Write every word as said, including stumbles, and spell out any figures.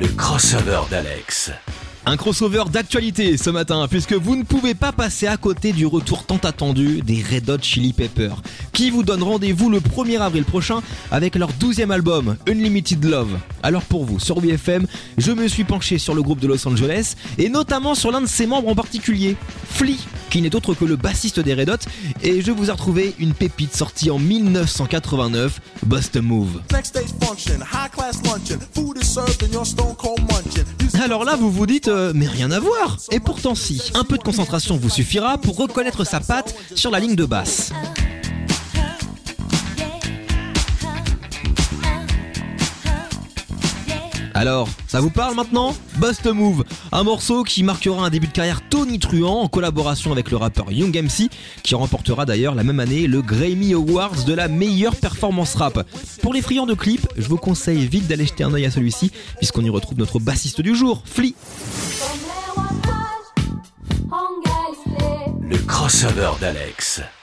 Le crossover d'Alex. Un crossover d'actualité ce matin, puisque vous ne pouvez pas passer à côté du retour tant attendu des Red Hot Chili Peppers, qui vous donnent rendez-vous le premier avril prochain avec leur douzième album, Unlimited Love. Alors pour vous, sur W F M, je me suis penché sur le groupe de Los Angeles, et notamment sur l'un de ses membres en particulier, Flea, qui n'est autre que le bassiste des Red Hot, et je vous ai retrouvé une pépite sortie en dix-neuf cent quatre-vingt-neuf, Bust a Move. Alors là, vous vous dites, euh, mais rien à voir. Et pourtant si, un peu de concentration vous suffira pour reconnaître sa patte sur la ligne de basse. Alors, ça vous parle maintenant ? Bust a Move, un morceau qui marquera un début de carrière tonitruant en collaboration avec le rappeur Young M C, qui remportera d'ailleurs la même année le Grammy Awards de la meilleure performance rap. Pour les friands de clips, je vous conseille vite d'aller jeter un œil à celui-ci, puisqu'on y retrouve notre bassiste du jour, Flea. Le crossover d'Alex.